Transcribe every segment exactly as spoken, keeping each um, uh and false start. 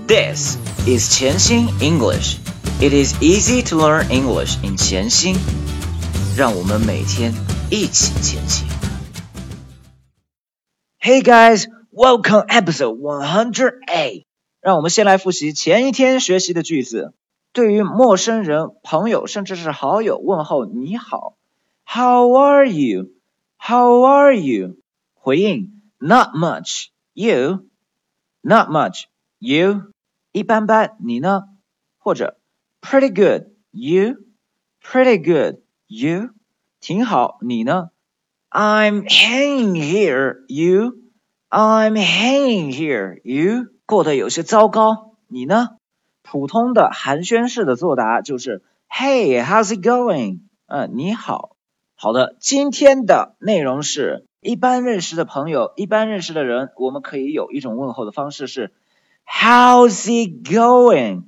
This is 潜心 English. It is easy to learn English in 潜心。让我们每天一起前行。Hey guys, welcome episode one hundred eight. 让我们先来复习前一天学习的句子。对于陌生人、朋友甚至是好友问候你好 How are you? How are you? 回应 Not much. You? Not much. You? 一般般，你呢？或者 Pretty good. You? Pretty good. You? 挺好，你呢？ I'm hanging here. You? I'm hanging here. You? 过得有些糟糕，你呢？普通的寒暄式的作答就是 Hey, how's it going? 嗯，你好。好的，今天的内容是一般认识的朋友，一般认识的人，我们可以有一种问候的方式是 How's it going?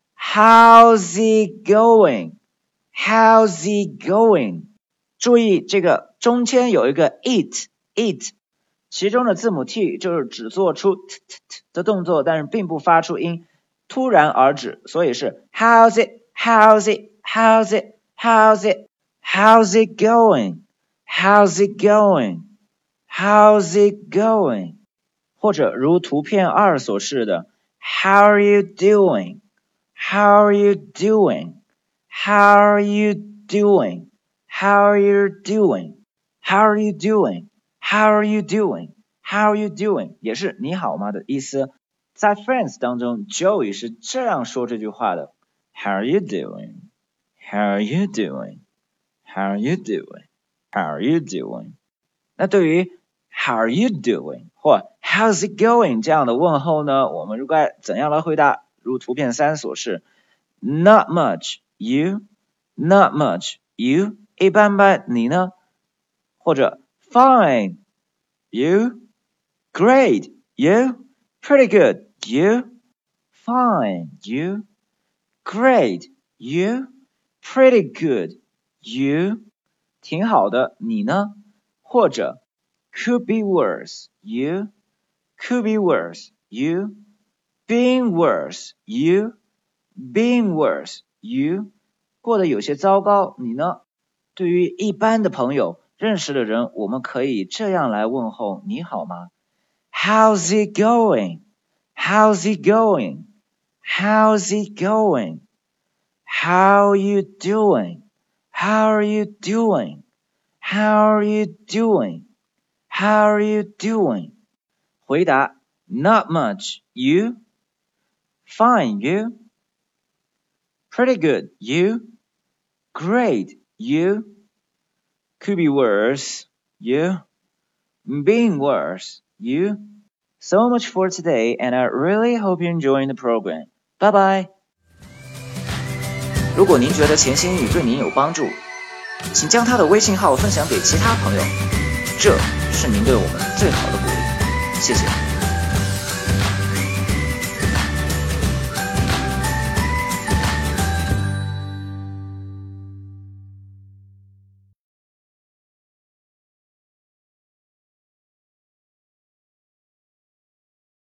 How's it going? How's it going? 注意这个中间有一个 it, it, 其中的字母 t 就是只做出 t, t, t 的动作，但是并不发出音，突然而止，所以是 How's it? How's it? How's it? How's it? How's it going? How's it going? How's it going? 或者如图片二所示的 How are you doing? How are you doing? How are you doing? How are you doing? How are you doing? How are you doing? How are you doing? 也是你好吗的意思。在 Friends 当中 Joey 是这样说这句话的 How are you doing? How are you doing? How are you doing? How are you doing? 那对于 How are you doing? 或 How's it going? 这样的问候呢，我们该怎样来回答？如图片三所示 Not much, you? Not much, you? 一般般，你呢？或者 Fine, you? Great, you? Pretty good, you? Fine, you? Great, you? Pretty good, you? 挺好的，你呢？或者 Could be worse, you? Could be worse, you? Being worse, you? Being worse, you? 过得有些糟糕，你呢？对于一般的朋友，认识的人，我们可以这样来问候，你好吗？ How's it going? How's it going? How's it going? How are you doing? How are you doing? How are you doing? How are you doing? 回答 Not much, you? Fine, you? Pretty good, you? Great, you? Could be worse, you? Being worse, you? So much for today, and I really hope you're enjoying the program. Bye bye! 如果您觉得潜心英语对您有帮助，请将他的微信号分享给其他朋友，这是您对我们最好的鼓励。谢谢。